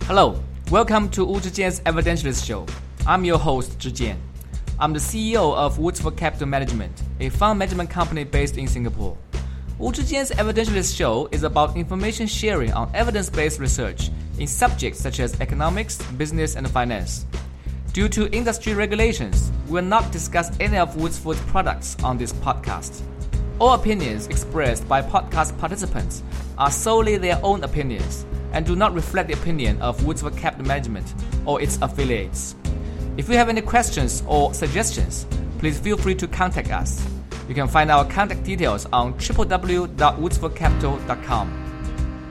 Hello, welcome to Wu Zhijian's Evidentialist Show. I'm your host, Zhijian. I'm the CEO of Woodsford Capital Management, a fund management company based in Singapore. Wu Zhijian's Evidentialist Show is about information sharing on evidence-based research in subjects such as economics, business, and finance. Due to industry regulations, we will not discuss any of Woodsford's products on this podcast. All opinions expressed by podcast participants are solely their own opinions and do not reflect the opinion of Woodsford Capital Management or its affiliates. If you have any questions or suggestions, please feel free to contact us. You can find our contact details on www.woodsfordcapital.com.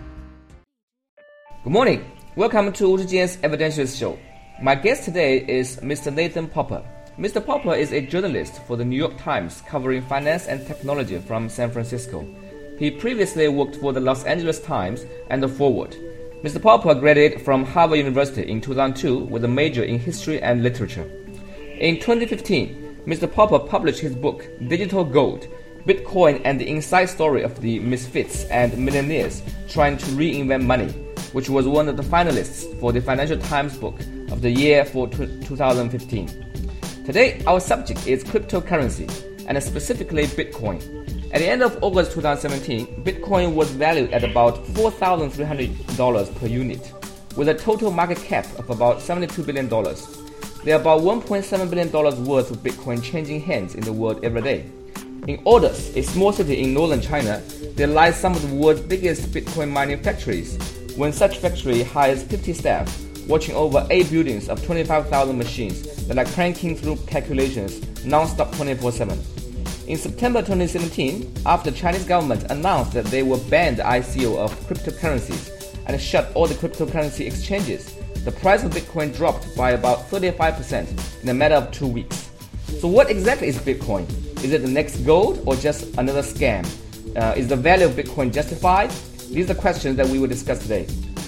Good morning. Welcome to Wu Zhijian's Evidentialist Show. My guest today is Mr. Nathan Popper. Mr. Popper is a journalist for the New York Times covering finance and technology from San Francisco. He previously worked for the Los Angeles Times and the Forward. Mr. Popper graduated from Harvard University in 2002 with a major in history and literature. In 2015, Mr. Popper published his book, Digital Gold, Bitcoin and the Inside Story of the Misfits and Millionaires Trying to Reinvent Money, which was one of the finalists for the Financial Times Book of the Year for 2015. Today, our subject is cryptocurrency, and specifically Bitcoin. At the end of August 2017, Bitcoin was valued at about $4,300 per unit, with a total market cap of about $72 billion. There are about $1.7 billion worth of Bitcoin changing hands in the world every day. In Ordos, a small city in northern China, there lies some of the world's biggest Bitcoin mining factories. When such factory hires 50 staff, watching over 8 buildings of 25,000 machines that are cranking through calculations non-stop 24/7. In September 2017, after the Chinese government announced that they will ban the ICO of cryptocurrencies and shut all the cryptocurrency exchanges, the price of Bitcoin dropped by about 35% in a matter of 2 weeks. So what exactly is Bitcoin? Is it the next gold or just another scam? Is the value of Bitcoin justified? These are the questions that we will discuss today.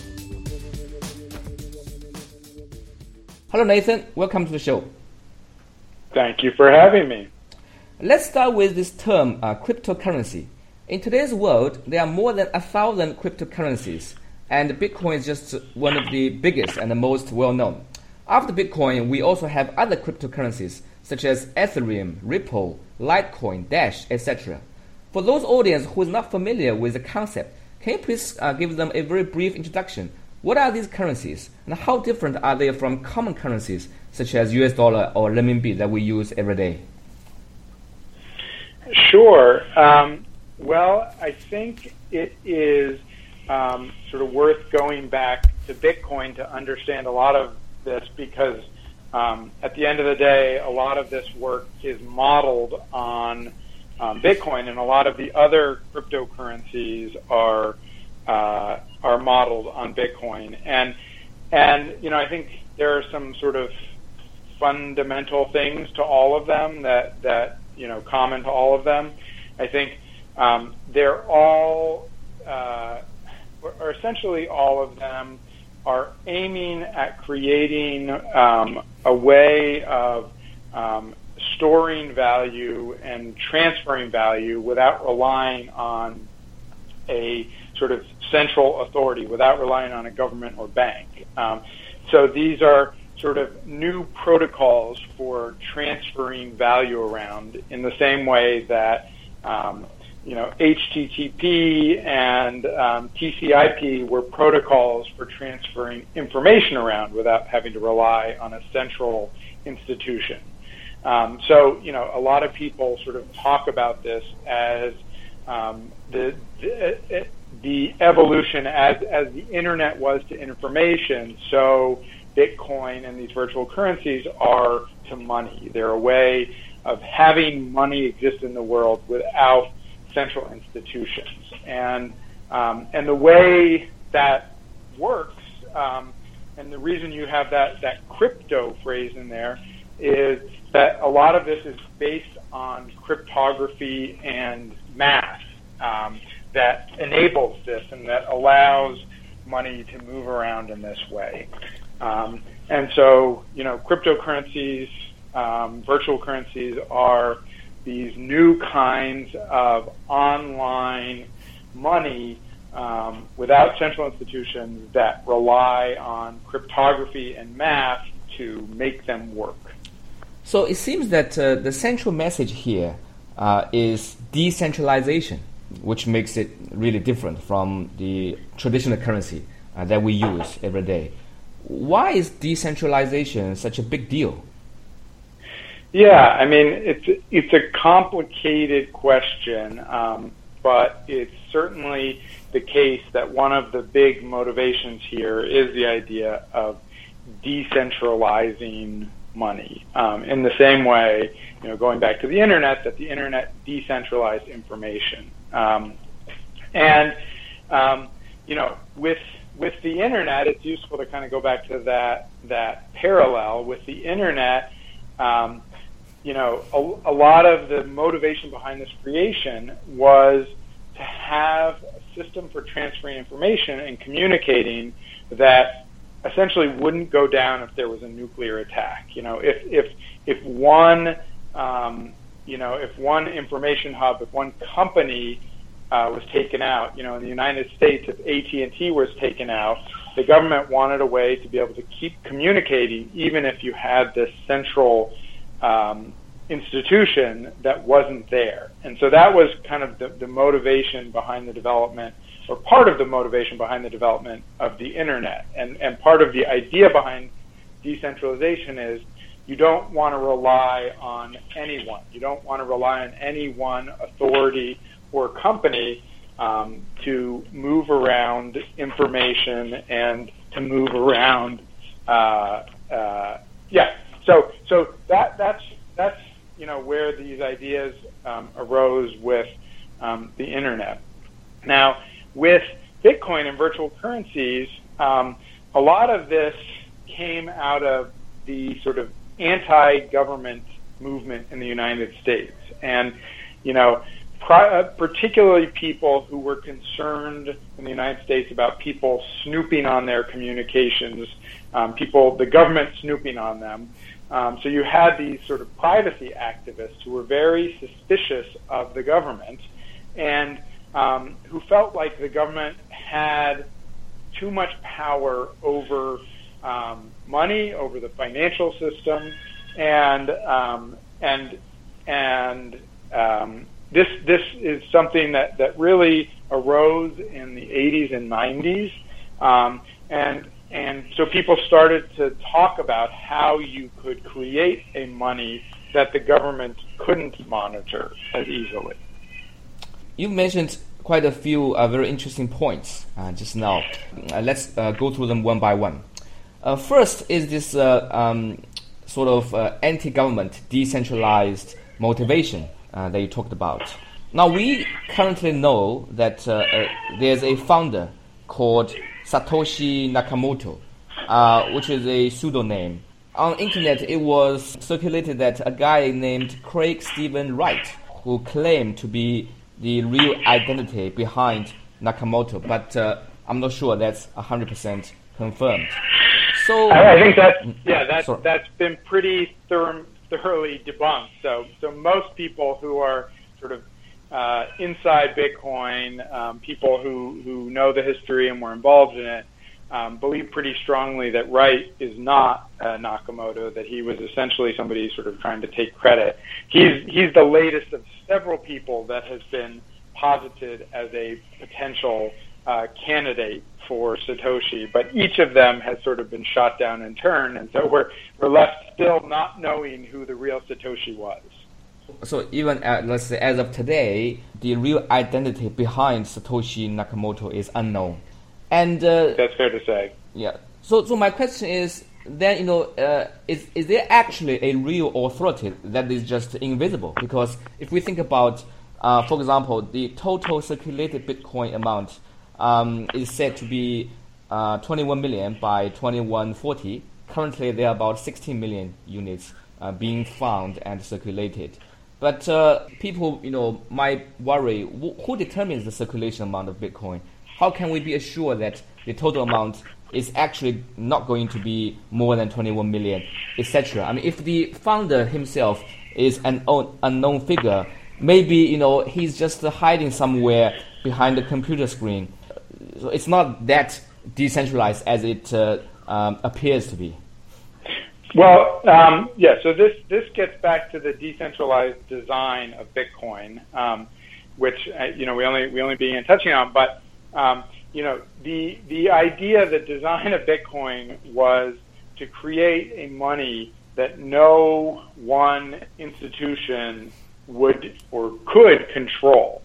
Hello Nathan, welcome to the show. Thank you for having me. Let's start with this term, cryptocurrency. In today's world, there are more than 1,000 cryptocurrencies, and Bitcoin is just one of the biggest and the most well-known. After Bitcoin, we also have other cryptocurrencies, such as Ethereum, Ripple, Litecoin, Dash, etc. For those audience who is not familiar with the concept, can you please give them a very brief introduction? What are these currencies, and how different are they from common currencies, such as US dollar or renminbi that we use every day? Sure. Well, I think it is sort of worth going back to Bitcoin to understand a lot of this because at the end of the day, a lot of this work is modeled on Bitcoin, and a lot of the other cryptocurrencies are modeled on Bitcoin. And you know, I think there are some sort of fundamental things to all of them that you know, common to all of them. I think they're all, or essentially all of them, are aiming at creating a way of storing value and transferring value without relying on a sort of central authority, without relying on a government or bank. So these are sort of new protocols for transferring value around in the same way that you know, HTTP and TCP were protocols for transferring information around without having to rely on a central institution. So you know, a lot of people sort of talk about this as the evolution as the internet was to information, so Bitcoin and these virtual currencies are to money. They're a way of having money exist in the world without central institutions. And the way that works, and the reason you have that crypto phrase in there, is that a lot of this is based on cryptography and math that enables this and that allows money to move around in this way. And so, you know, cryptocurrencies, virtual currencies are these new kinds of online money without central institutions that rely on cryptography and math to make them work. So it seems that the central message here is decentralization, which makes it really different from the traditional currency that we use every day. Why is decentralization such a big deal? Yeah, I mean, it's a complicated question, but it's certainly the case that one of the big motivations here is the idea of decentralizing money. In the same way, going back to the internet, that the internet decentralized information. With the internet, it's useful to kind of go back to that parallel. With the internet, a lot of the motivation behind this creation was to have a system for transferring information and communicating that essentially wouldn't go down if there was a nuclear attack. If one information hub, if one company was taken out, in the United States, if AT&T was taken out, the government wanted a way to be able to keep communicating even if you had this central institution that wasn't there. And so that was kind of the motivation behind the development, or part of the motivation behind the development of the internet. And part of the idea behind decentralization is you don't want to rely on anyone. You don't want to rely on any one authority or company to move around information and to move around. So that's where these ideas arose with the internet. Now, with Bitcoin and virtual currencies, a lot of this came out of the sort of anti-government movement in the United States. And, particularly people who were concerned in the United States about people snooping on their communications, the government snooping on them. So you had these sort of privacy activists who were very suspicious of the government and who felt like the government had too much power over money, over the financial system, and this is something that really arose in the 80s and 90s, and so people started to talk about how you could create a money that the government couldn't monitor as easily. You mentioned quite a few very interesting points just now. Let's go through them one by one. First is this sort of anti-government, decentralized motivation that you talked about. Now, we currently know that there's a founder called Satoshi Nakamoto, which is a pseudonym. On the internet, it was circulated that a guy named Craig Stephen Wright, who claimed to be the real identity behind Nakamoto, but I'm not sure that's 100% confirmed. So I think that's been pretty thoroughly debunked. So most people who are sort of inside Bitcoin, people who know the history and were involved in it, believe pretty strongly that Wright is not Nakamoto, that he was essentially somebody sort of trying to take credit. He's the latest of several people that has been posited as a potential candidate for Satoshi, but each of them has sort of been shot down in turn, and so we're left still not knowing who the real Satoshi was. So even let's say as of today, the real identity behind Satoshi Nakamoto is unknown, and that's fair to say. Yeah. So my question is then, is there actually a real authority that is just invisible? Because if we think about, for example, the total circulated Bitcoin amount is said to be 21 million by 2140. Currently, there are about 16 million units being found and circulated. But people, might worry, who determines the circulation amount of Bitcoin? How can we be assured that the total amount is actually not going to be more than 21 million, etc.? I mean, if the founder himself is an unknown figure, maybe, he's just hiding somewhere behind the computer screen. so it's not that decentralized as it appears to be. Well, so this gets back to the decentralized design of Bitcoin, which we only began touching on. But the idea, the design of Bitcoin was to create a money that no one institution would or could control.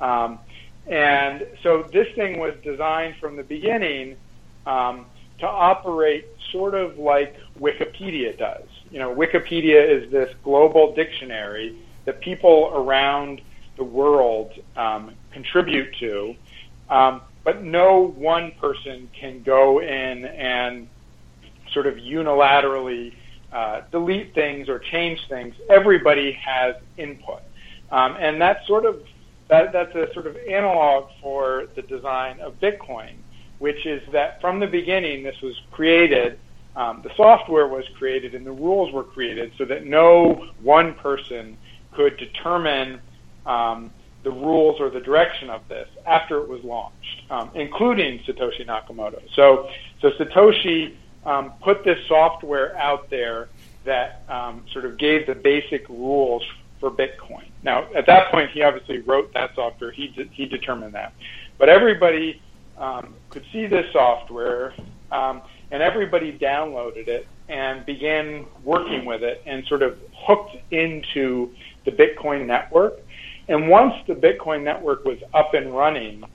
And so this thing was designed from the beginning to operate sort of like Wikipedia does. Wikipedia is this global dictionary that people around the world contribute to, but no one person can go in and sort of unilaterally delete things or change things. Everybody has input, and that's a sort of analog for the design of Bitcoin, which is that from the beginning this was created, the software was created and the rules were created so that no one person could determine the rules or the direction of this after it was launched, including Satoshi Nakamoto. So Satoshi put this software out there that sort of gave the basic rules for Bitcoin. Now, at that point, he obviously wrote that software. He determined that. But everybody could see this software, and everybody downloaded it and began working with it and sort of hooked into the Bitcoin network. And once the Bitcoin network was up and running,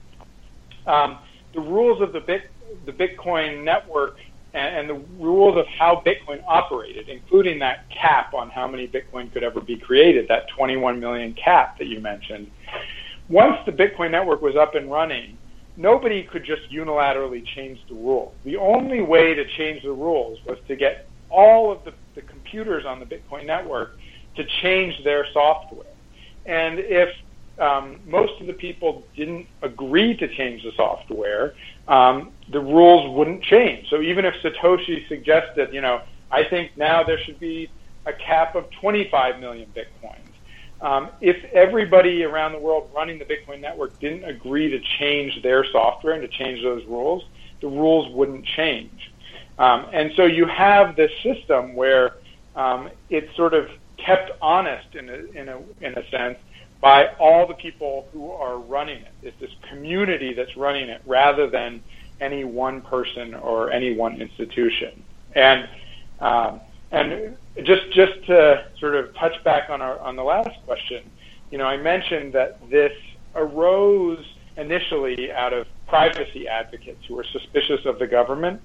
the rules of the Bitcoin network and the rules of how Bitcoin operated, including that cap on how many Bitcoin could ever be created, that 21 million cap that you mentioned. Once the Bitcoin network was up and running, nobody could just unilaterally change the rules. The only way to change the rules was to get all of the computers on the Bitcoin network to change their software. And if most of the people didn't agree to change the software, the rules wouldn't change. So even if Satoshi suggested, I think now there should be a cap of 25 million Bitcoins, if everybody around the world running the Bitcoin network didn't agree to change their software and to change those rules, the rules wouldn't change. And so you have this system where it's sort of kept honest in a sense by all the people who are running it. It's this community that's running it rather than any one person or any one institution. And just to sort of touch back on the last question, I mentioned that this arose initially out of privacy advocates who were suspicious of the government.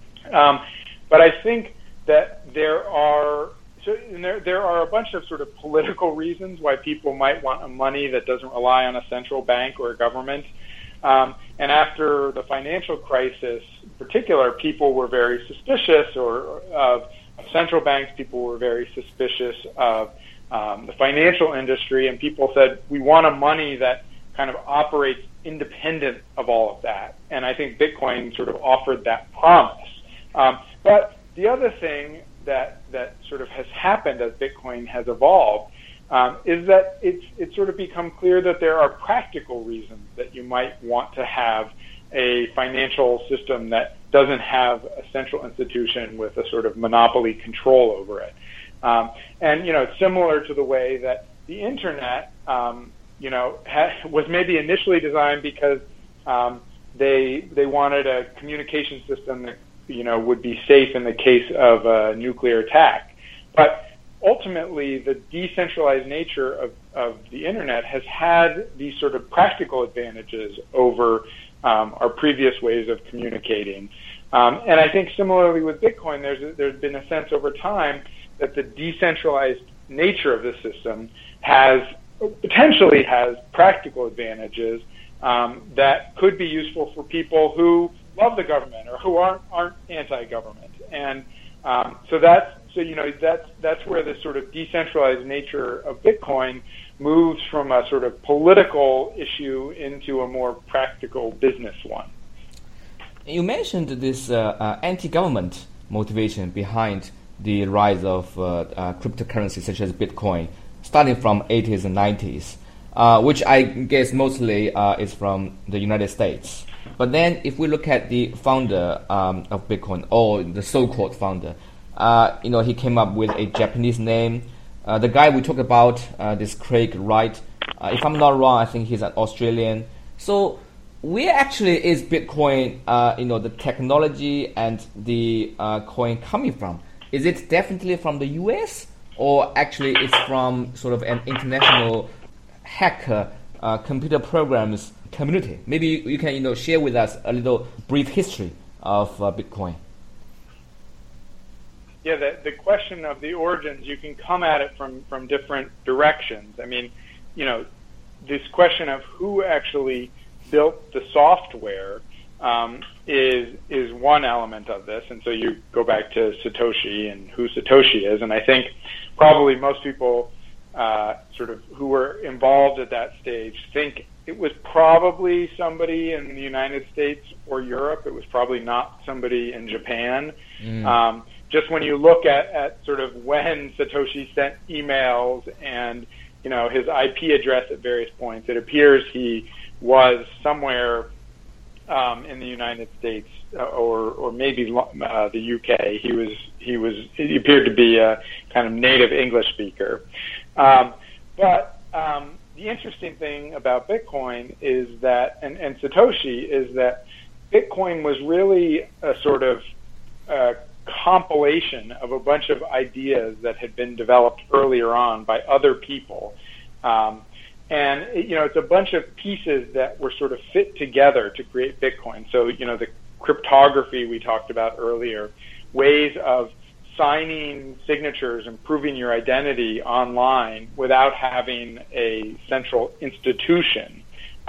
But I think that there are a bunch of sort of political reasons why people might want a money that doesn't rely on a central bank or a government. And after the financial crisis, in particular, people were very suspicious of central banks. People were very suspicious of the financial industry, and people said, we want a money that kind of operates independent of all of that. And I think Bitcoin sort of offered that promise. But the other thing that sort of has happened as Bitcoin has evolved is that it's sort of become clear that there are practical reasons that you might want to have a financial system that doesn't have a central institution with a sort of monopoly control over it. And it's similar to the way that the internet was maybe initially designed because they wanted a communication system that would be safe in the case of a nuclear attack. But ultimately, the decentralized nature of the internet has had these sort of practical advantages over our previous ways of communicating. And I think similarly with Bitcoin, there's been a sense over time that the decentralized nature of the system potentially has practical advantages that could be useful for people who love the government or who aren't anti-government. And so that's where this sort of decentralized nature of Bitcoin moves from a sort of political issue into a more practical business one. You mentioned this anti-government motivation behind the rise of cryptocurrencies such as Bitcoin, starting from 80s and 90s, which I guess mostly is from the United States. But then if we look at the founder of Bitcoin, or the so-called founder, he came up with a Japanese name. The guy we talked about, this Craig Wright, if I'm not wrong, I think he's an Australian. So where actually is Bitcoin, the technology and the coin coming from? Is it definitely from the US, or actually it's from sort of an international hacker computer programs community? Maybe you can share with us a little brief history of Bitcoin. Yeah, the question of the origins, you can come at it from different directions. I mean, this question of who actually built the software is one element of this, and so you go back to Satoshi and who Satoshi is, and I think probably most people sort of who were involved at that stage think it was probably somebody in the United States or Europe. It was probably not somebody in Japan. Just when you look at sort of when Satoshi sent emails and his IP address at various points, it appears he was somewhere in the United States or maybe the UK. He appeared to be a kind of native English speaker. But the interesting thing about Bitcoin is that, and Satoshi, is that Bitcoin was really a sort of compilation of a bunch of ideas that had been developed earlier on by other people. And it's a bunch of pieces that were sort of fit together to create Bitcoin. So, the cryptography we talked about earlier, ways of signing signatures and proving your identity online without having a central institution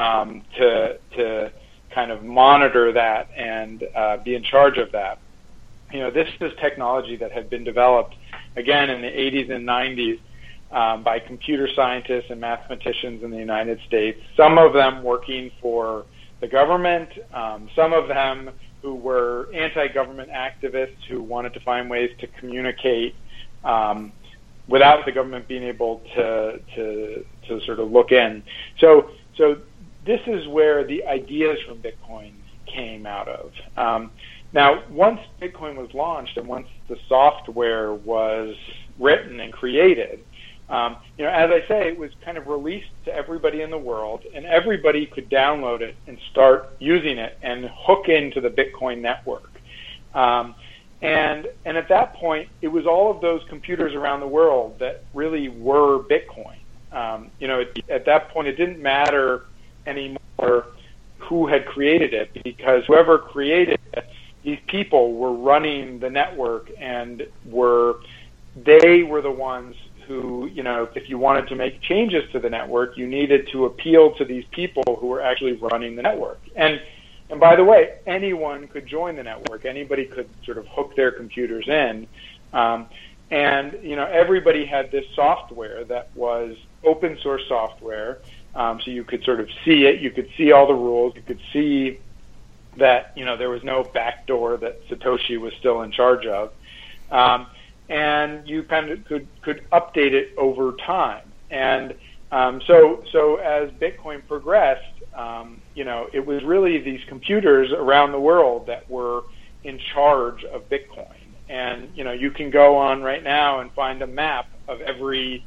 to kind of monitor that and be in charge of that. This is technology that had been developed, again, in the 80s and 90s by computer scientists and mathematicians in the United States, some of them working for the government, some of them who were anti-government activists who wanted to find ways to communicate without the government being able to sort of look in. So this is where the ideas from Bitcoin came out of. Now, once Bitcoin was launched and once the software was written and created, as I say, it was kind of released to everybody in the world, and everybody could download it and start using it and hook into the Bitcoin network. And at that point, it was all of those computers around the world that really were Bitcoin. At that point, it didn't matter anymore who had created it, because whoever created it, these people were running the network, and they were the ones who, if you wanted to make changes to the network, you needed to appeal to these people who were actually running the network. And by the way, anyone could join the network. Anybody could sort of hook their computers in. And everybody had this software that was open source software. So you could sort of see it. You could see all the rules. You could see that, there was no backdoor that Satoshi was still in charge of. And you kind of could update it over time. And so as Bitcoin progressed, it was really these computers around the world that were in charge of Bitcoin. And you can go on right now and find a map of every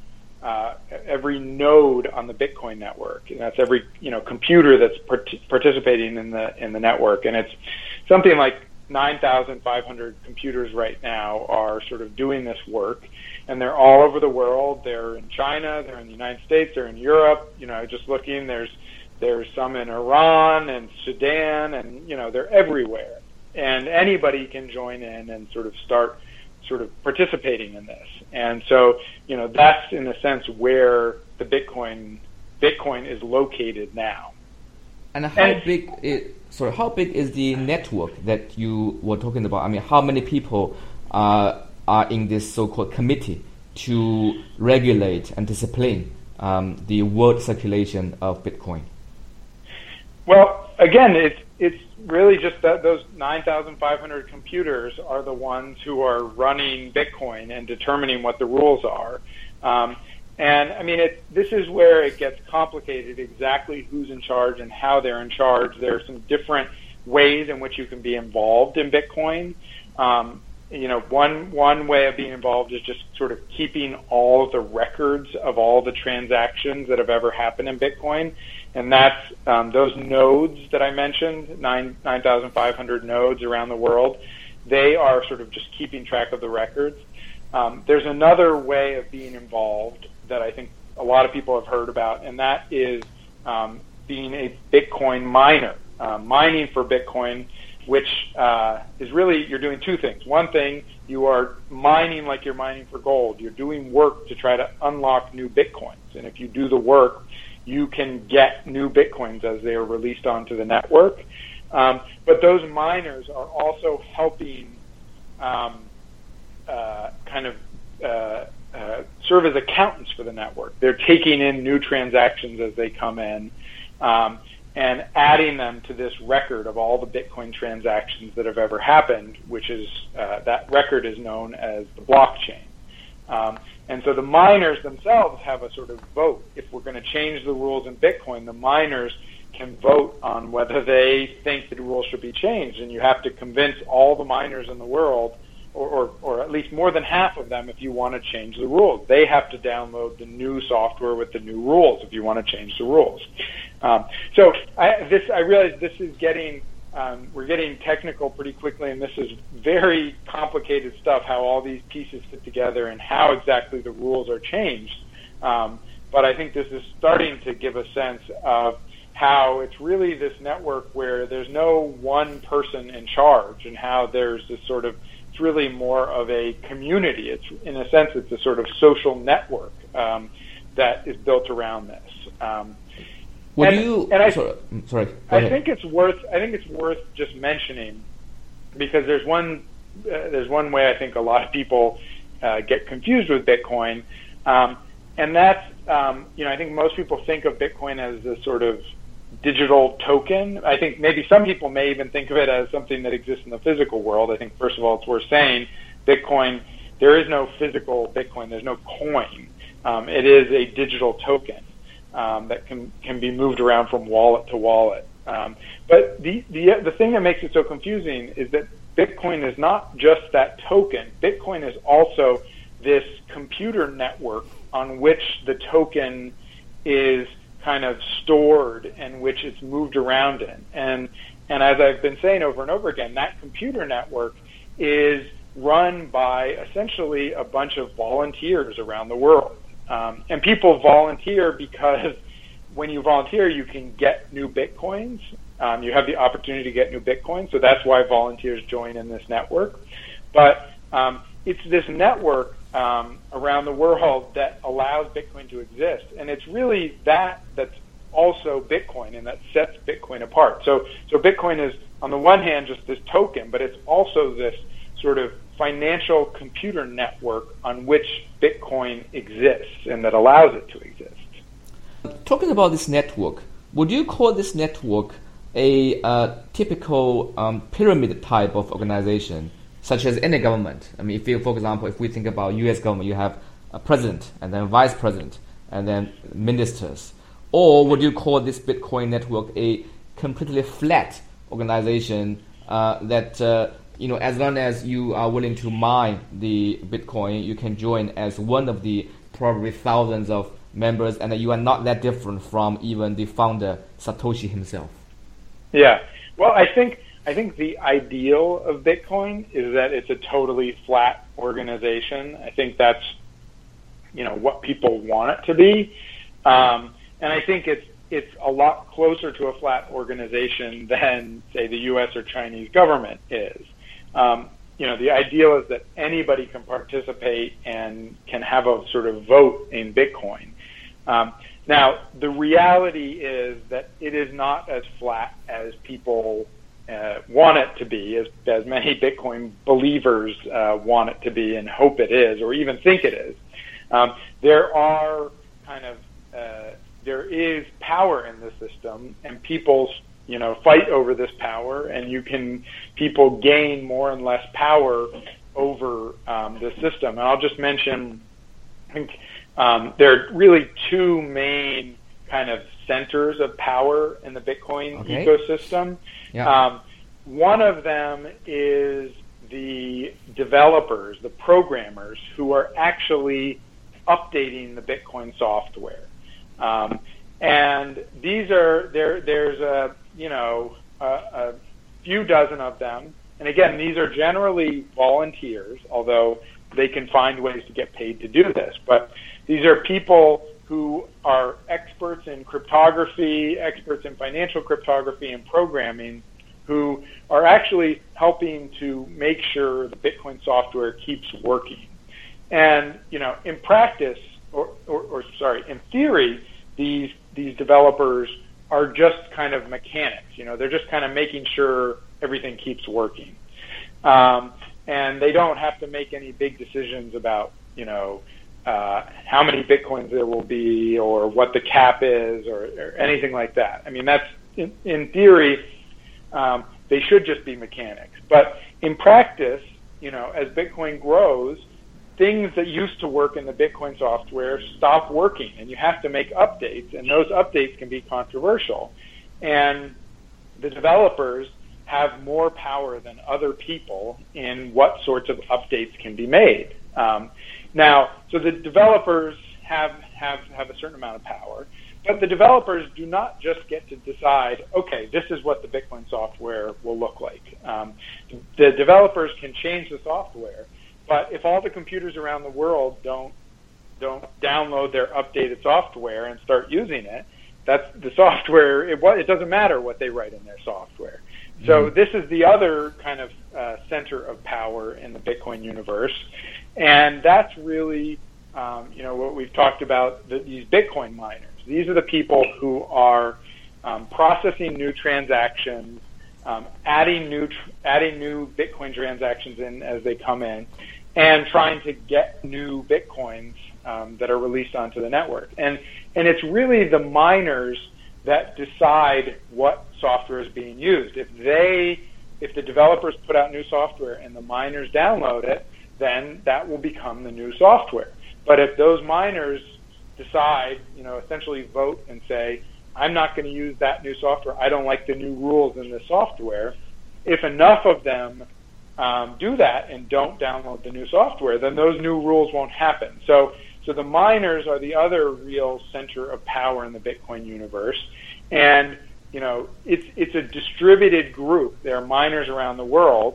node on the Bitcoin network, and that's every computer that's participating in the network. And it's something like 9,500 computers right now are sort of doing this work, and they're all over the world. They're in China, they're in the United States, they're in Europe. Just looking, there's some in Iran and Sudan, and they're everywhere. And anybody can join in and sort of start sort of participating in this. And so, that's in a sense where the Bitcoin is located now. And how big is the network that you were talking about? I mean, how many people are in this so-called committee to regulate and discipline the world circulation of Bitcoin? Well, again, it's really just that those 9,500 computers are the ones who are running Bitcoin and determining what the rules are. And I mean, this is where it gets complicated, exactly who's in charge and how they're in charge. There are some different ways in which you can be involved in Bitcoin. One way of being involved is just sort of keeping all the records of all the transactions that have ever happened in Bitcoin. And that's those nodes that I mentioned, 9,500 nodes around the world. They are sort of just keeping track of the records. There's another way of being involved that I think a lot of people have heard about, and that is being a Bitcoin miner, mining for Bitcoin, which is really, you're doing two things. One thing, you are mining like you're mining for gold. You're doing work to try to unlock new Bitcoins. And if you do the work, you can get new Bitcoins as they are released onto the network. But those miners are also helping serve as accountants for the network. They're taking in new transactions as they come in, and adding them to this record of all the Bitcoin transactions that have ever happened, which is that record is known as the blockchain. And so the miners themselves have a sort of vote. If we're going to change the rules in Bitcoin, the miners can vote on whether they think the rules should be changed. And you have to convince all the miners in the world, or at least more than half of them, if you want to change the rules. They have to download the new software with the new rules if you want to change the rules. So I realize this is we're getting technical pretty quickly, and this is very complicated stuff, how all these pieces fit together and how exactly the rules are changed. But I think this is starting to give a sense of how it's really this network where there's no one person in charge, and how there's this sort of, it's really more of a community. It's, in a sense, it's a sort of social network that is built around this. I think it's worth just mentioning, because there's one way I think a lot of people get confused with Bitcoin, and that's I think most people think of Bitcoin as a sort of digital token. I think maybe some people may even think of it as something that exists in the physical world. I think, first of all, it's worth saying Bitcoin, there is no physical Bitcoin. There's no coin. It is a digital token that can be moved around from wallet to wallet. But the thing that makes it so confusing is that Bitcoin is not just that token. Bitcoin is also this computer network on which the token is kind of stored and which it's moved around in. And as I've been saying over and over again, that computer network is run by essentially a bunch of volunteers around the world. And people volunteer because when you volunteer, you can get new Bitcoins. You have the opportunity to get new Bitcoins, so that's why volunteers join in this network. But it's this network around the world that allows Bitcoin to exist, and it's really that's also Bitcoin, and that sets Bitcoin apart. So Bitcoin is, on the one hand, just this token, but it's also this sort of financial computer network on which Bitcoin exists and that allows it to exist. Talking about this network, would you call this network a typical pyramid type of organization, such as any government? I mean, for example, if we think about U.S. government, you have a president and then vice president and then ministers. Or would you call this Bitcoin network a completely flat organization that as long as you are willing to mine the Bitcoin, you can join as one of the probably thousands of members, and that you are not that different from even the founder, Satoshi himself? Yeah. Well, I think the ideal of Bitcoin is that it's a totally flat organization. I think that's, what people want it to be. And I think it's a lot closer to a flat organization than, say, the U.S. or Chinese government is. The ideal is that anybody can participate and can have a sort of vote in Bitcoin. Now, the reality is that it is not as flat as people want it to be, as many Bitcoin believers want it to be and hope it is, or even think it is. There is power in the system, and people fight over this power, and people gain more and less power over the system. And I'll just mention, I think there are really two main kind of centers of power in the Bitcoin ecosystem. Yeah. One of them is the developers, the programmers who are actually updating the Bitcoin software. And these are there's a few dozen of them. And again, these are generally volunteers, although they can find ways to get paid to do this. But these are people who are experts in cryptography, experts in financial cryptography and programming, who are actually helping to make sure the Bitcoin software keeps working. And, in practice, in theory, these developers are just kind of mechanics. They're just kind of making sure everything keeps working. And they don't have to make any big decisions about, how many Bitcoins there will be or what the cap is or anything like that. I mean, that's, in theory, they should just be mechanics. But in practice, as Bitcoin grows, things that used to work in the Bitcoin software stop working, and you have to make updates, and those updates can be controversial. And the developers have more power than other people in what sorts of updates can be made. So the developers have a certain amount of power, but the developers do not just get to decide, okay, this is what the Bitcoin software will look like. The developers can change the software, but if all the computers around the world don't download their updated software and start using it, that's the software. It doesn't matter what they write in their software. So this is the other kind of center of power in the Bitcoin universe, and that's really what we've talked about. These Bitcoin miners. These are the people who are processing new transactions, adding new Bitcoin transactions in as they come in, and trying to get new Bitcoins that are released onto the network. And it's really the miners that decide what software is being used. If the developers put out new software and the miners download it, then that will become the new software. But if those miners decide, essentially vote and say, I'm not going to use that new software, I don't like the new rules in the software, if enough of them do that and don't download the new software, then those new rules won't happen. So the miners are the other real center of power in the Bitcoin universe. And, it's a distributed group. There are miners around the world.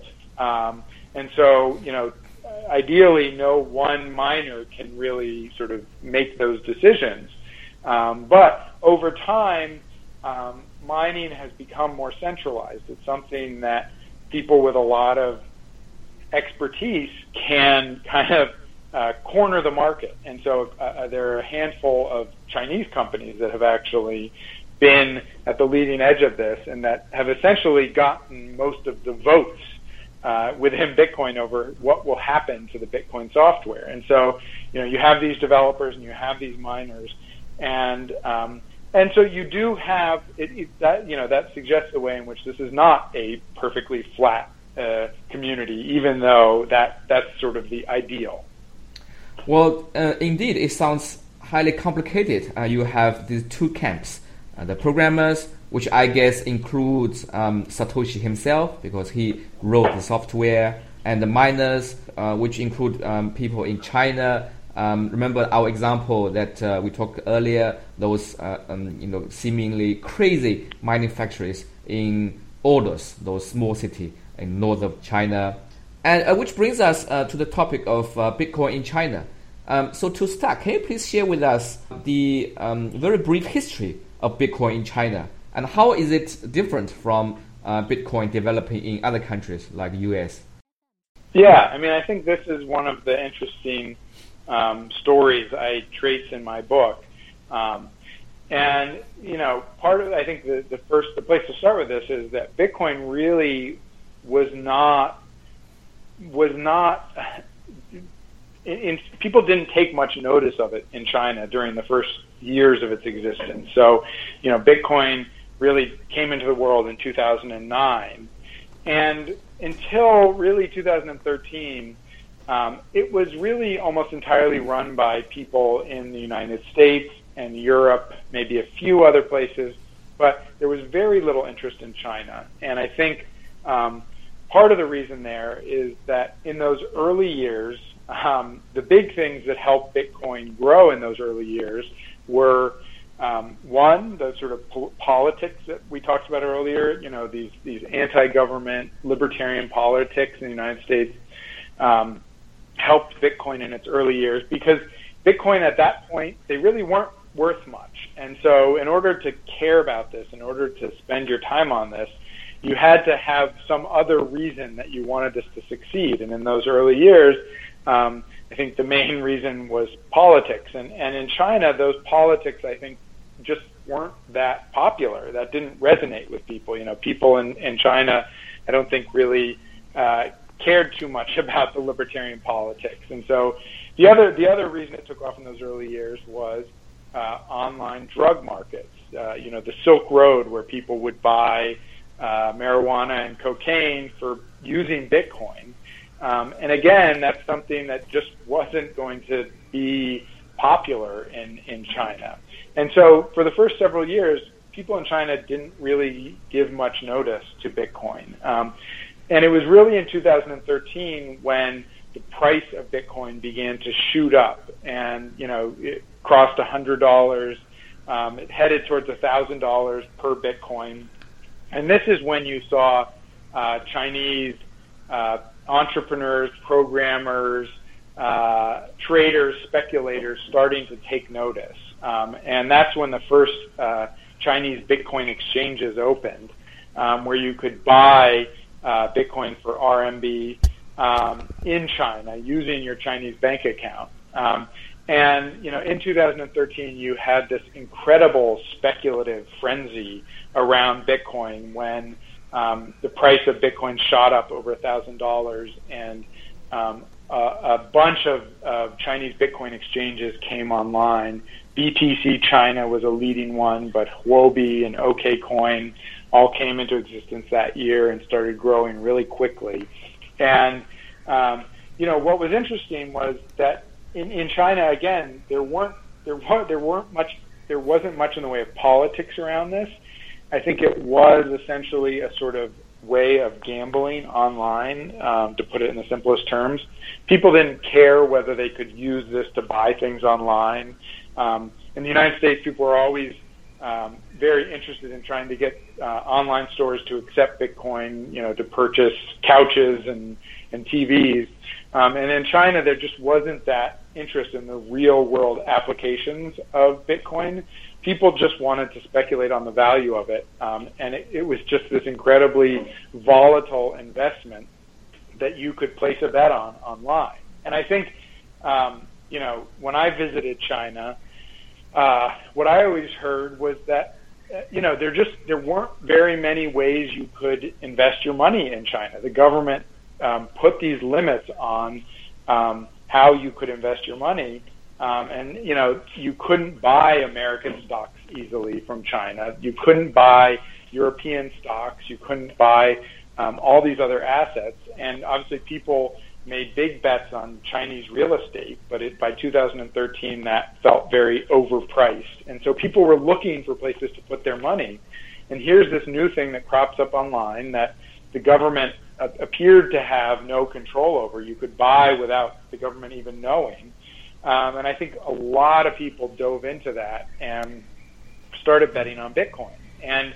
And so, ideally, no one miner can really sort of make those decisions. But over time, mining has become more centralized. It's something that people with a lot of expertise can kind of corner the market. And so there are a handful of Chinese companies that have actually been at the leading edge of this and that have essentially gotten most of the votes within Bitcoin over what will happen to the Bitcoin software. And so, you have these developers and you have these miners, and so you do have that suggests the way in which this is not a perfectly flat community, even though that's sort of the ideal. Well, indeed, it sounds highly complicated. You have these two camps, the programmers, which I guess includes Satoshi himself because he wrote the software, and the miners, which include people in China. Remember our example that we talked earlier, those seemingly crazy mining factories in Ordos, those small cities in north of China. And which brings us to the topic of Bitcoin in China. So to start, can you please share with us the very brief history of Bitcoin in China, and how is it different from Bitcoin developing in other countries like the US? Yeah, I think this is one of the interesting stories I trace in my book. And, part of, I think the place to start with this is that Bitcoin really was not people didn't take much notice of it in China during the first years of its existence. So, Bitcoin really came into the world in 2009. And until really 2013, it was really almost entirely run by people in the United States and Europe, maybe a few other places, but there was very little interest in China. And I think Part of the reason there is that in those early years, the big things that helped Bitcoin grow in those early years were one, the sort of politics that we talked about earlier. You know, these anti-government libertarian politics in the United States helped Bitcoin in its early years, because Bitcoin at that point, they really weren't worth much. And so in order to care about this, in order to spend your time on this, you had to have some other reason that you wanted this to succeed. And in those early years, I think the main reason was politics. And in China, those politics, I think, just weren't that popular. That didn't resonate with people. You know, people in China, I don't think really cared too much about the libertarian politics. And so the other reason it took off in those early years was online drug markets. You know, the Silk Road, where people would buy marijuana and cocaine for using Bitcoin. And again, that's something that just wasn't going to be popular in China. And so for the first several years, people in China didn't really give much notice to Bitcoin. And it was really in 2013 when the price of Bitcoin began to shoot up, and, you know, it crossed $100. It headed towards $1,000 per Bitcoin. And this is when you saw Chinese entrepreneurs, programmers, traders, speculators starting to take notice. And that's when the first Chinese Bitcoin exchanges opened, where you could buy Bitcoin for RMB in China using your Chinese bank account. And, you know, in 2013, you had this incredible speculative frenzy around Bitcoin when the price of Bitcoin shot up over $1,000, and a bunch of Chinese Bitcoin exchanges came online. BTC China was a leading one, but Huobi and OKCoin all came into existence that year and started growing really quickly. And, you know, what was interesting was that in China, again, there wasn't much in the way of politics around this. I think it was essentially a sort of way of gambling online, to put it in the simplest terms. People didn't care whether they could use this to buy things online. In the United States, people were always very interested in trying to get online stores to accept Bitcoin, you know, to purchase couches and TVs. And in China, there just wasn't that interest in the real world applications of Bitcoin. People just wanted to speculate on the value of it. And it was just this incredibly volatile investment that you could place a bet on online. And I think, you know, when I visited China, what I always heard was that, you know, there weren't very many ways you could invest your money in China. The government put these limits on how you could invest your money. And, you know, you couldn't buy American stocks easily from China. You couldn't buy European stocks. You couldn't buy all these other assets. And obviously people made big bets on Chinese real estate, but by 2013 that felt very overpriced. And so people were looking for places to put their money. And here's this new thing that crops up online that the government appeared to have no control over. You could buy without the government even knowing. And I think a lot of people dove into that and started betting on Bitcoin. And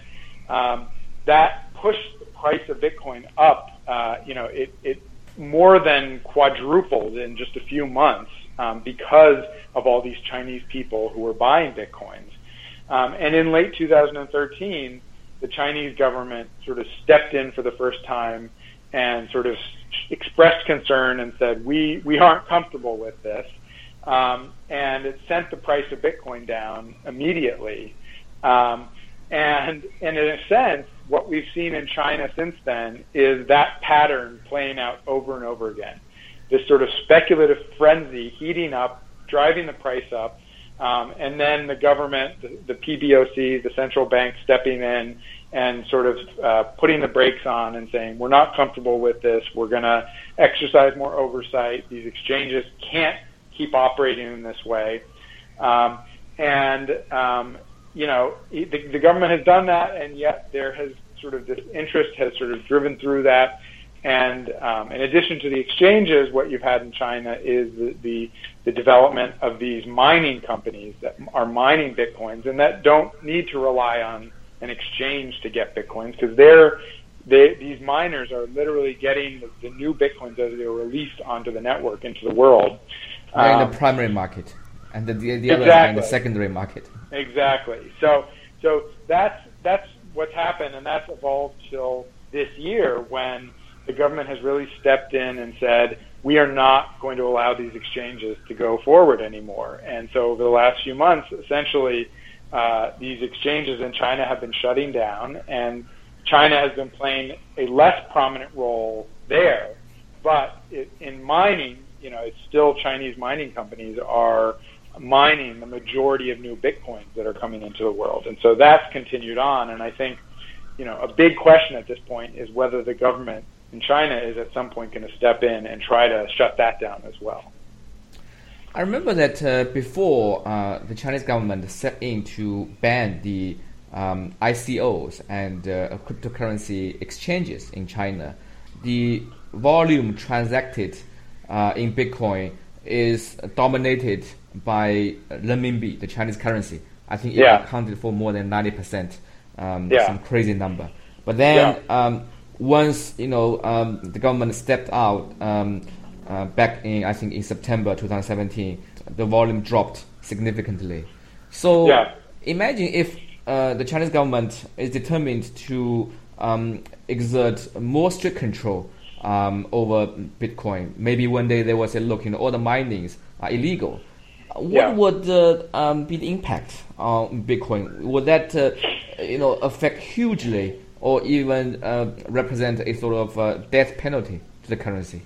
that pushed the price of Bitcoin up. You know, it more than quadrupled in just a few months because of all these Chinese people who were buying Bitcoins. And in late 2013, the Chinese government sort of stepped in for the first time and sort of expressed concern and said, we aren't comfortable with this. And it sent the price of Bitcoin down immediately. And in a sense, what we've seen in China since then is that pattern playing out over and over again. This sort of speculative frenzy heating up, driving the price up, and then the government, the PBOC, the central bank stepping in and sort of putting the brakes on and saying, we're not comfortable with this, we're going to exercise more oversight, these exchanges can't keep operating in this way. You know, the government has done that, and yet there has sort of this interest has sort of driven through that. And in addition to the exchanges, what you've had in China is the development of these mining companies that are mining Bitcoins and that don't need to rely on an exchange to get Bitcoins, because these miners are literally getting the new Bitcoins as they're released onto the network, into the world. They're in the primary market, and the exactly. others are in the secondary market. Exactly. So that's what's happened, and that's evolved till this year when the government has really stepped in and said, we are not going to allow these exchanges to go forward anymore. And so over the last few months, essentially, these exchanges in China have been shutting down, and China has been playing a less prominent role there. But in mining, it's still Chinese mining companies are mining the majority of new Bitcoins that are coming into the world. And so that's continued on. And I think, a big question at this point is whether the government in China is at some point going to step in and try to shut that down as well. I remember that before the Chinese government stepped in to ban the ICOs and cryptocurrency exchanges in China, the volume transacted in Bitcoin is dominated by renminbi, the Chinese currency. I think it accounted for more than 90%, some crazy number. But then once the government stepped out back in, I think in September 2017, the volume dropped significantly. So imagine if the Chinese government is determined to exert more strict control over Bitcoin. Maybe one day they will say, look, all the minings are illegal. What would be the impact on Bitcoin? Would that affect hugely, or even represent a sort of death penalty to the currency?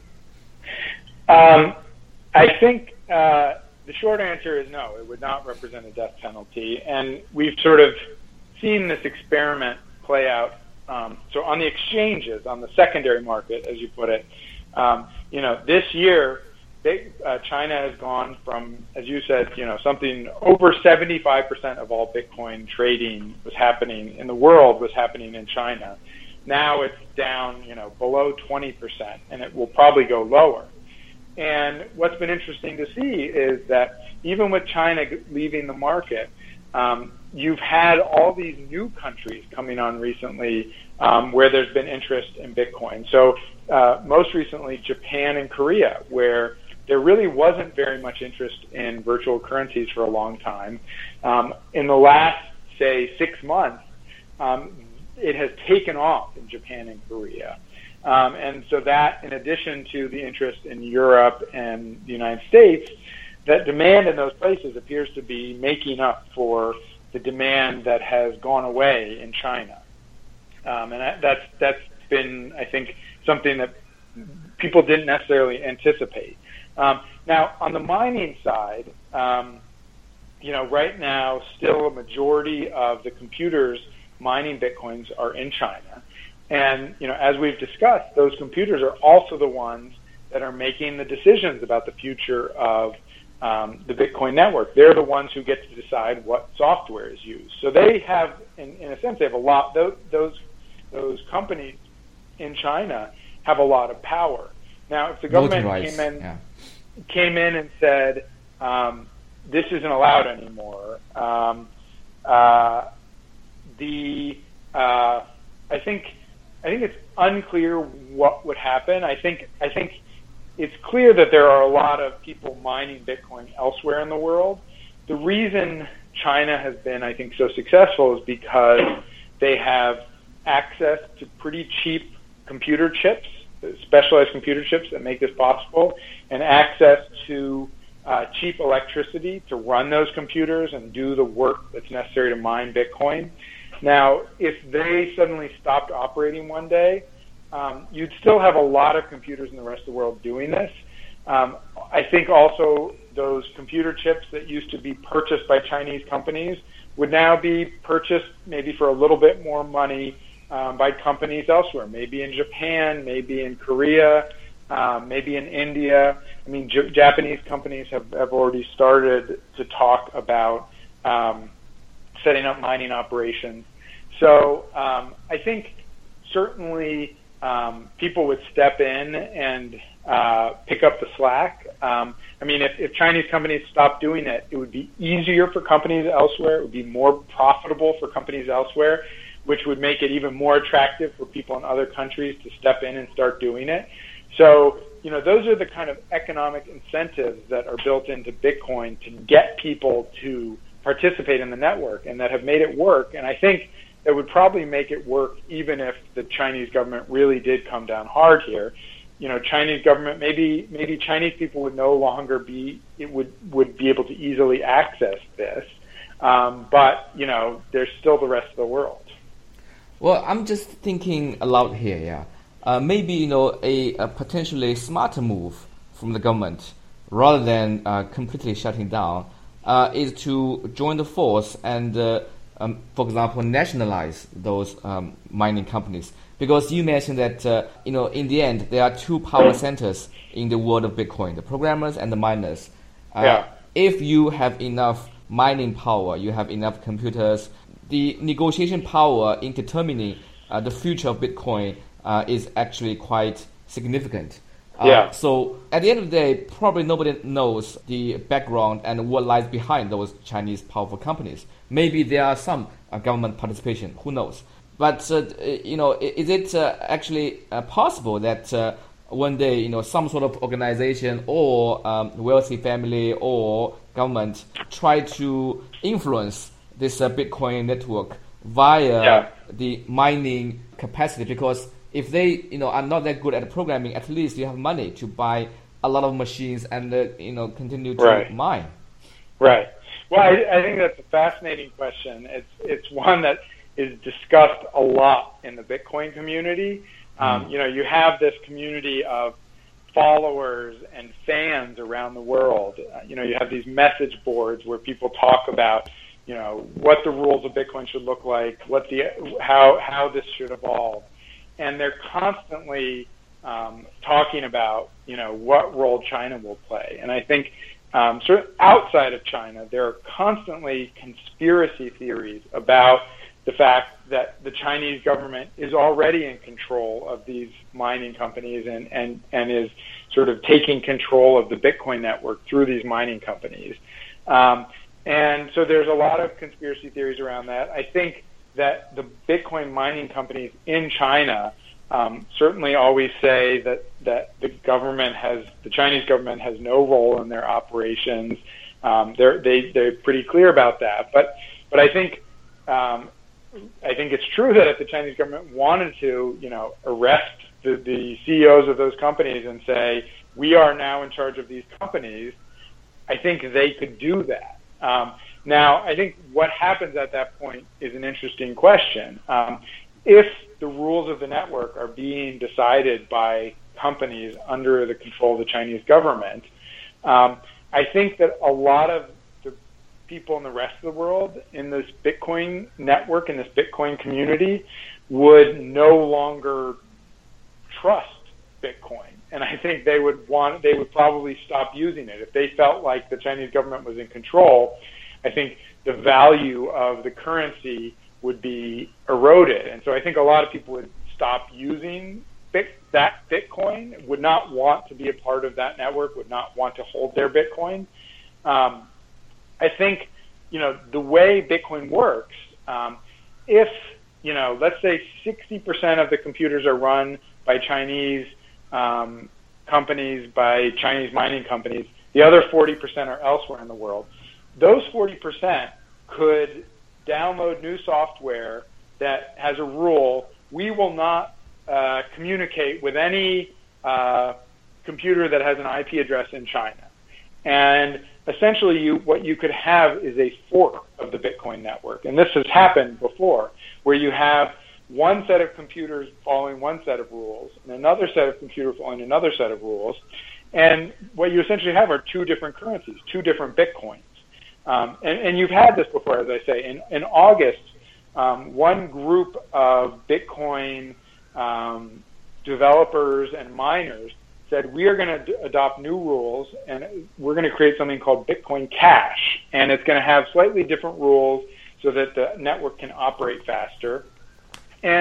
I think the short answer is no, it would not represent a death penalty. And we've sort of seen this experiment play out. So on the exchanges, on the secondary market, as you put it, this year, China has gone from, as you said, something over 75% of all Bitcoin trading was happening in the world was happening in China. Now it's down, below 20%, and it will probably go lower. And what's been interesting to see is that even with China leaving the market, you've had all these new countries coming on recently where there's been interest in Bitcoin. So most recently, Japan and Korea, where there really wasn't very much interest in virtual currencies for a long time. In the last, say, 6 months, it has taken off in Japan and Korea. And so that, in addition to the interest in Europe and the United States, that demand in those places appears to be making up for the demand that has gone away in China. And that's been, I think, something that people didn't necessarily anticipate. Now, on the mining side, right now, still a majority of the computers mining Bitcoins are in China. And, as we've discussed, those computers are also the ones that are making the decisions about the future of the Bitcoin network. They're the ones who get to decide what software is used. So they have, in a sense, they have a lot, those companies in China have a lot of power. Now, if the government came in and said, this isn't allowed anymore, I think it's unclear what would happen. I think it's clear that there are a lot of people mining Bitcoin elsewhere in the world. The reason China has been, I think, so successful is because they have access to pretty cheap computer chips, specialized computer chips that make this possible, and access to cheap electricity to run those computers and do the work that's necessary to mine Bitcoin. Now, if they suddenly stopped operating one day, you'd still have a lot of computers in the rest of the world doing this. I think also those computer chips that used to be purchased by Chinese companies would now be purchased maybe for a little bit more money by companies elsewhere, maybe in Japan, maybe in Korea, maybe in India. I mean, Japanese companies have already started to talk about setting up mining operations. So I think certainly people would step in and pick up the slack. I mean, if Chinese companies stopped doing it, it would be easier for companies elsewhere. It would be more profitable for companies elsewhere, which would make it even more attractive for people in other countries to step in and start doing it. So, those are the kind of economic incentives that are built into Bitcoin to get people to participate in the network and that have made it work. And I think that would probably make it work even if the Chinese government really did come down hard here. Chinese government, maybe Chinese people would no longer would be able to easily access this. But, there's still the rest of the world. Well, I'm just thinking aloud here, yeah. Maybe, a potentially smarter move from the government, rather than completely shutting down, is to join the force and, for example, nationalize those mining companies. Because you mentioned that, in the end, there are two power centers in the world of Bitcoin, the programmers and the miners. If you have enough mining power, you have enough computers, the negotiation power in determining the future of Bitcoin is actually quite significant. So at the end of the day, probably nobody knows the background and what lies behind those Chinese powerful companies. Maybe there are some government participation, who knows? But, is it actually possible that one day, some sort of organization or wealthy family or government try to influence this Bitcoin network via the mining capacity? Because if they, are not that good at programming, at least you have money to buy a lot of machines and, continue to mine. Right. Well, I think that's a fascinating question. It's one that is discussed a lot in the Bitcoin community. You have this community of followers and fans around the world. You have these message boards where people talk about, what the rules of Bitcoin should look like, how this should evolve. And they're constantly talking about, what role China will play. And I think sort of outside of China, there are constantly conspiracy theories about the fact that the Chinese government is already in control of these mining companies and is sort of taking control of the Bitcoin network through these mining companies. And so there's a lot of conspiracy theories around that. I think that the Bitcoin mining companies in China certainly always say that the Chinese government has no role in their operations. They're pretty clear about that. But I think it's true that if the Chinese government wanted to, arrest the CEOs of those companies and say, we are now in charge of these companies, I think they could do that. Now, I think what happens at that point is an interesting question. If the rules of the network are being decided by companies under the control of the Chinese government, I think that a lot of people in the rest of the world in this Bitcoin network, in this Bitcoin community, would no longer trust Bitcoin. And I think they would probably stop using it. If they felt like the Chinese government was in control, I think the value of the currency would be eroded. And so I think a lot of people would stop using that Bitcoin, would not want to be a part of that network, would not want to hold their Bitcoin. I think, the way Bitcoin works, if, let's say 60% of the computers are run by Chinese companies, by Chinese mining companies, the other 40% are elsewhere in the world. Those 40% could download new software that has a rule: we will not communicate with any computer that has an IP address in China. And essentially, what you could have is a fork of the Bitcoin network. And this has happened before, where you have one set of computers following one set of rules and another set of computers following another set of rules. And what you essentially have are two different currencies, two different Bitcoins. And you've had this before, as I say. In August, one group of Bitcoin developers and miners said, we are going to adopt new rules, and we're going to create something called Bitcoin Cash. And it's going to have slightly different rules so that the network can operate faster. And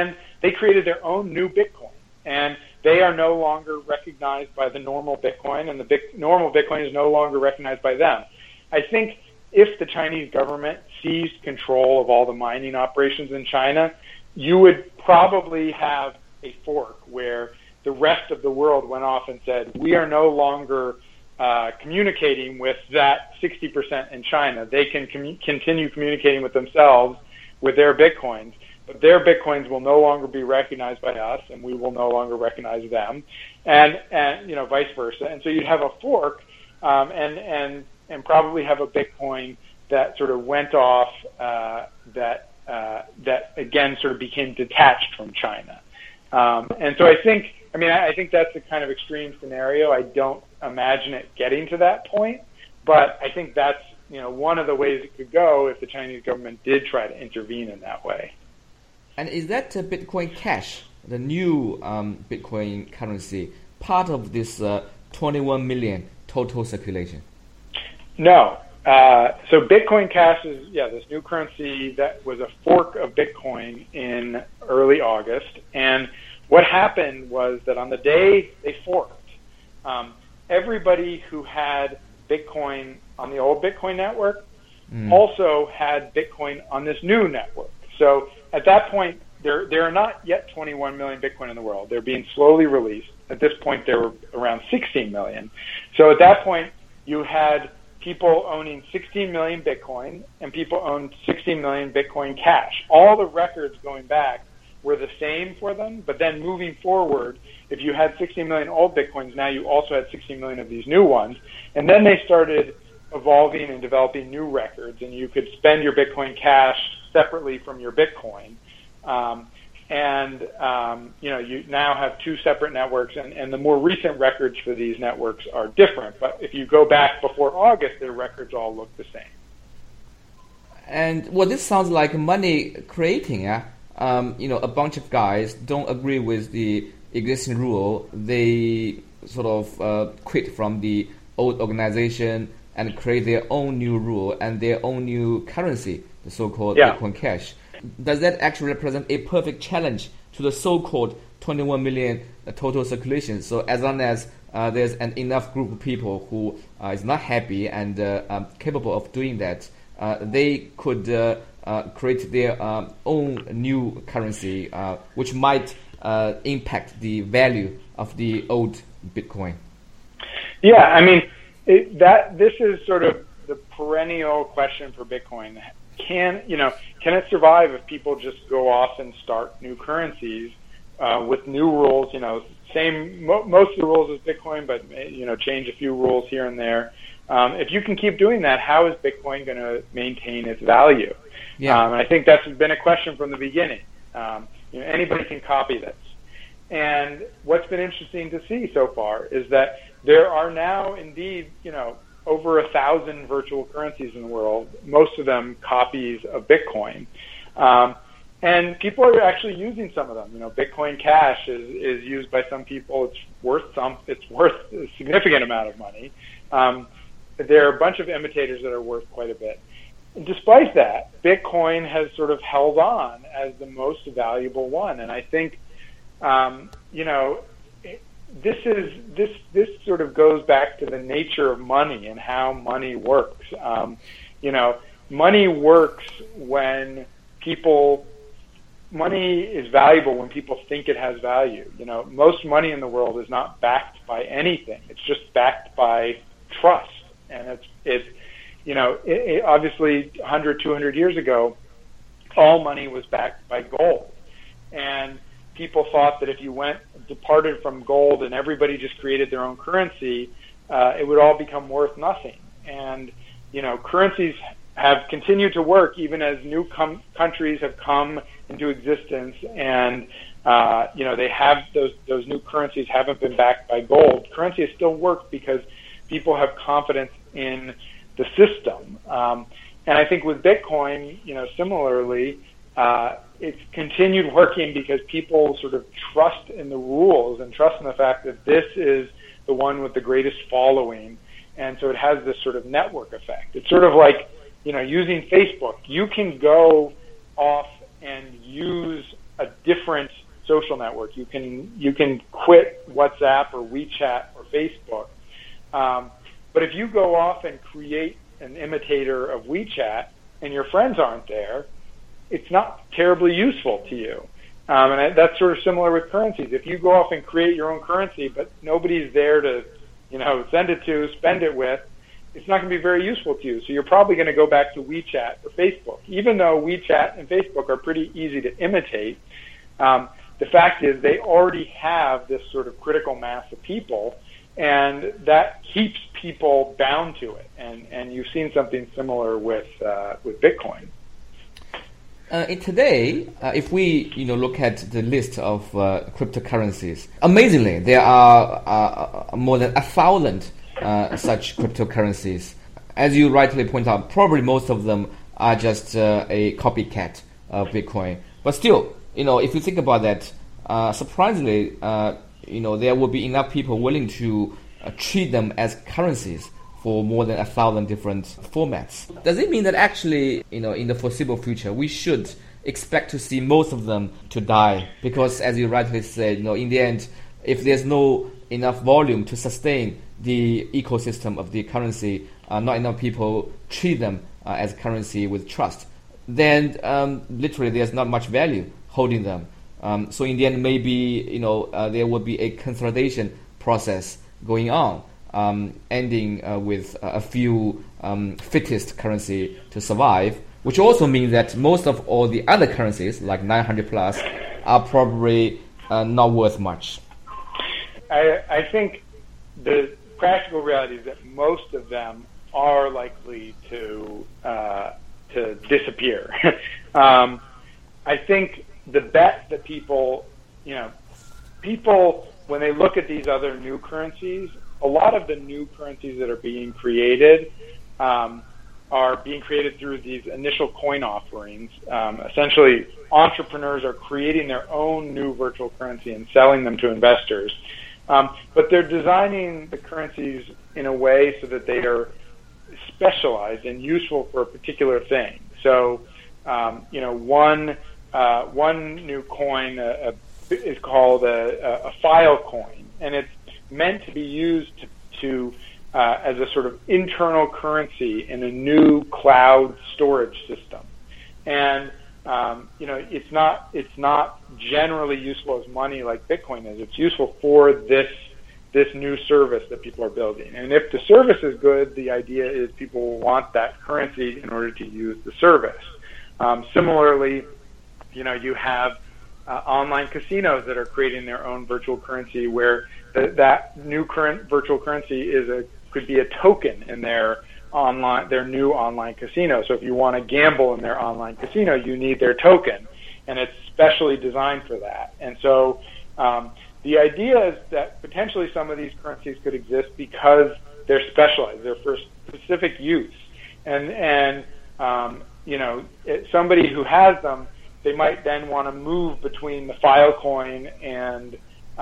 they created their own new Bitcoin, and they are no longer recognized by the normal Bitcoin, and the normal Bitcoin is no longer recognized by them. I think if the Chinese government seized control of all the mining operations in China, you would probably have a fork where the rest of the world went off and said, we are no longer communicating with that 60% in China. They can continue communicating with themselves with their Bitcoins, but their Bitcoins will no longer be recognized by us, and we will no longer recognize them, and vice versa. And so you'd have a fork, and probably have a Bitcoin that sort of went off, that again sort of became detached from China. And so I think that's a kind of extreme scenario. I don't imagine it getting to that point, but I think that's one of the ways it could go if the Chinese government did try to intervene in that way. And is that Bitcoin Cash, the new Bitcoin currency, part of this 21 million total circulation? No. So Bitcoin Cash is, this new currency that was a fork of Bitcoin in early August. And what happened was that on the day they forked, everybody who had Bitcoin on the old Bitcoin network also had Bitcoin on this new network. So at that point, there are not yet 21 million Bitcoin in the world. They're being slowly released. At this point, there were around 16 million. So at that point, you had people owning 16 million Bitcoin, and people owned 16 million Bitcoin Cash. All the records going back were the same for them, but then moving forward, if you had 16 million old Bitcoins, now you also had 16 million of these new ones. And then they started evolving and developing new records, and you could spend your Bitcoin Cash separately from your Bitcoin. You now have two separate networks, and the more recent records for these networks are different. But if you go back before August, their records all look the same. And this sounds like money creating. A bunch of guys don't agree with the existing rule. They sort of quit from the old organization and create their own new rule and their own new currency, the so-called Bitcoin Cash. Does that actually represent a perfect challenge to the so-called 21 million total circulation? So as long as there's an enough group of people who is not happy and capable of doing that, they could create their own new currency, which might impact the value of the old Bitcoin. Yeah, I mean, this is sort of the perennial question for Bitcoin. Can it survive if people just go off and start new currencies with new rules? Most of the rules as Bitcoin, but change a few rules here and there. If you can keep doing that, how is Bitcoin going to maintain its value? Yeah. And I think that's been a question from the beginning. Anybody can copy this. And what's been interesting to see so far is that there are now indeed, over 1,000 virtual currencies in the world, most of them copies of Bitcoin. And people are actually using some of them. Bitcoin Cash is used by some people. It's worth a significant amount of money. There are a bunch of imitators that are worth quite a bit. Despite that, Bitcoin has sort of held on as the most valuable one. And I think, this sort of goes back to the nature of money and how money works. Money works when money is valuable when people think it has value. Most money in the world is not backed by anything. It's just backed by trust. And it's obviously 100, 200 years ago, all money was backed by gold. And people thought that if you departed from gold and everybody just created their own currency, it would all become worth nothing. And, currencies have continued to work even as new countries have come into existence, and, they have those new currencies haven't been backed by gold. Currency has still worked because people have confidence in the system. And I think with Bitcoin, similarly, it's continued working because people sort of trust in the rules and trust in the fact that this is the one with the greatest following. And so it has this sort of network effect. It's sort of like, using Facebook. You can go off and use a different social network. You can quit WhatsApp or WeChat or Facebook. But if you go off and create an imitator of WeChat and your friends aren't there, it's not terribly useful to you. That's sort of similar with currencies. If you go off and create your own currency, but nobody's there to, send it to, spend it with, it's not going to be very useful to you. So you're probably going to go back to WeChat or Facebook. Even though WeChat and Facebook are pretty easy to imitate, the fact is they already have this sort of critical mass of people, and that keeps people bound to it. And you've seen something similar with Bitcoin. Today, if we look at the list of cryptocurrencies, amazingly, there are more than 1,000 such cryptocurrencies. As you rightly point out, probably most of them are just a copycat of Bitcoin. But still, if you think about that, surprisingly, there will be enough people willing to treat them as currencies for more than 1,000 different formats. Does it mean that actually, in the foreseeable future, we should expect to see most of them to die? Because as you rightly said, in the end, if there's no enough volume to sustain the ecosystem of the currency, not enough people treat them as currency with trust, then literally there's not much value holding them. So in the end, maybe there will be a consolidation process going on, ending with a few fittest currency to survive, which also means that most of all the other currencies, like 900 plus, are probably not worth much. I think the practical reality is that most of them are likely to disappear. I think the bet that people when they look at these other new currencies, a lot of the new currencies that are being created are being created through these initial coin offerings. Essentially, entrepreneurs are creating their own new virtual currency and selling them to investors. But they're designing the currencies in a way so that they are specialized and useful for a particular thing. So, one new coin is called a file coin, and it's meant to be used to as a sort of internal currency in a new cloud storage system. And it's not generally useful as money like Bitcoin is. It's useful for this new service that people are building. And if the service is good, the idea is people will want that currency in order to use the service. Similarly, you have online casinos that are creating their own virtual currency, where that new current virtual currency could be a token in their new online casino. So if you want to gamble in their online casino, you need their token, and it's specially designed for that. And so the idea is that potentially some of these currencies could exist because they're specialized, they're for specific use, and somebody who has them, they might then want to move between the Filecoin and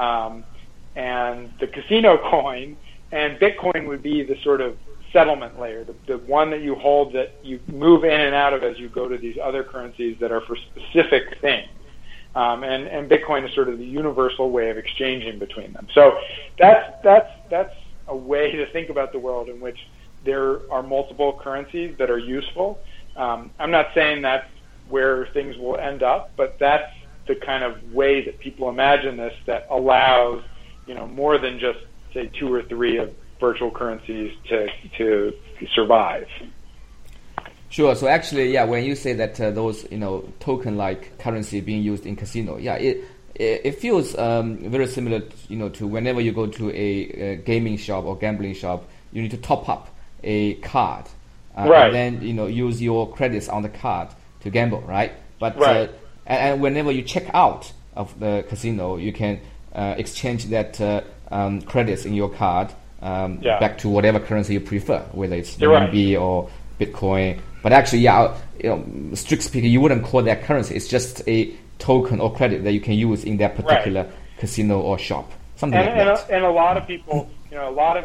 the casino coin, and Bitcoin would be the sort of settlement layer, the one that you hold that you move in and out of as you go to these other currencies that are for specific things. And Bitcoin is sort of the universal way of exchanging between them. So that's a way to think about the world in which there are multiple currencies that are useful. I'm not saying that's where things will end up, but that's the kind of way that people imagine this, that allows more than just say 2 or 3 of virtual currencies to survive. Sure. So actually, when you say that those token-like currency being used in casino, it feels very similar, to whenever you go to a gaming shop or gambling shop, you need to top up a card, right, and then use your credits on the card to gamble, right? But right. And whenever you check out of the casino, you can exchange that credits in your card back to whatever currency you prefer, whether it's RMB or Bitcoin. But actually, strict speaking, you wouldn't call that currency. It's just a token or credit that you can use in that particular casino or shop. Something like that. And a lot of people, a lot of these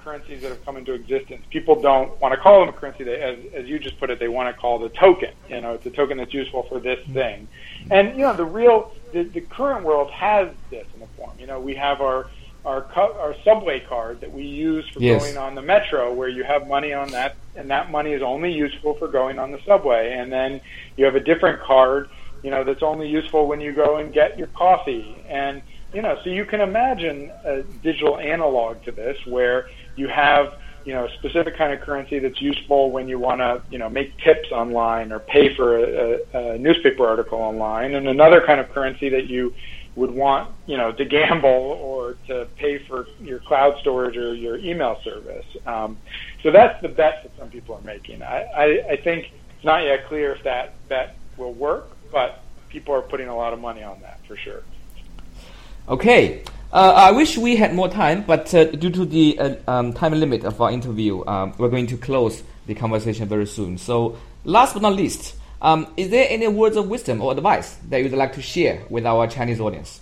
currencies that have come into existence, people don't want to call them a currency. As you just put it, they want to call it a token. It's a token that's useful for this thing. And the current world has this in the form. We have our subway card that we use for going on the metro, where you have money on that, and that money is only useful for going on the subway. And then you have a different card, that's only useful when you go and get your coffee. And so you can imagine a digital analog to this, where you have a specific kind of currency that's useful when you want to make tips online or pay for a newspaper article online, and another kind of currency that you would want to gamble or to pay for your cloud storage or your email service. So that's the bet that some people are making. I think it's not yet clear if that bet will work, but people are putting a lot of money on that for sure. Okay. I wish we had more time, but due to the time limit of our interview, we're going to close the conversation very soon. So last but not least, is there any words of wisdom or advice that you'd like to share with our Chinese audience?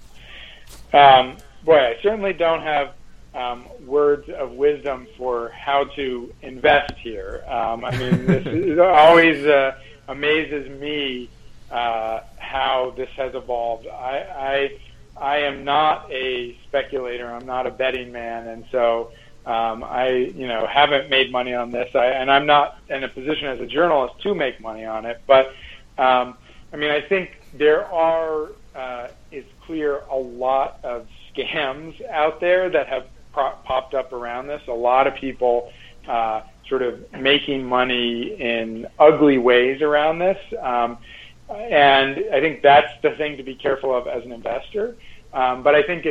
I certainly don't have words of wisdom for how to invest here. This always amazes me how this has evolved. I am not a speculator. I'm not a betting man, and so I haven't made money on this. And I'm not in a position as a journalist to make money on it. But I think there it's clear a lot of scams out there that have popped up around this. A lot of people sort of making money in ugly ways around this. And I think that's the thing to be careful of as an investor. But I think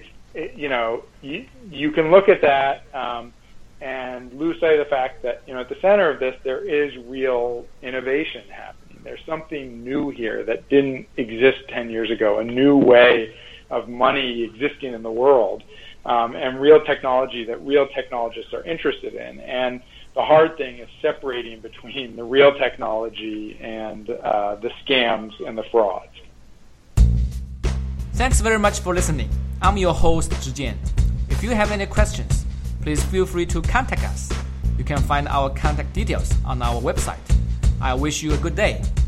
you can look at that and lose sight of the fact that at the center of this there is real innovation happening. There's something new here that didn't exist 10 years ago, a new way of money existing in the world, and real technology that real technologists are interested in. And the hard thing is separating between the real technology and the scams and the frauds. Thanks very much for listening. I'm your host, Zhijian. If you have any questions, please feel free to contact us. You can find our contact details on our website. I wish you a good day.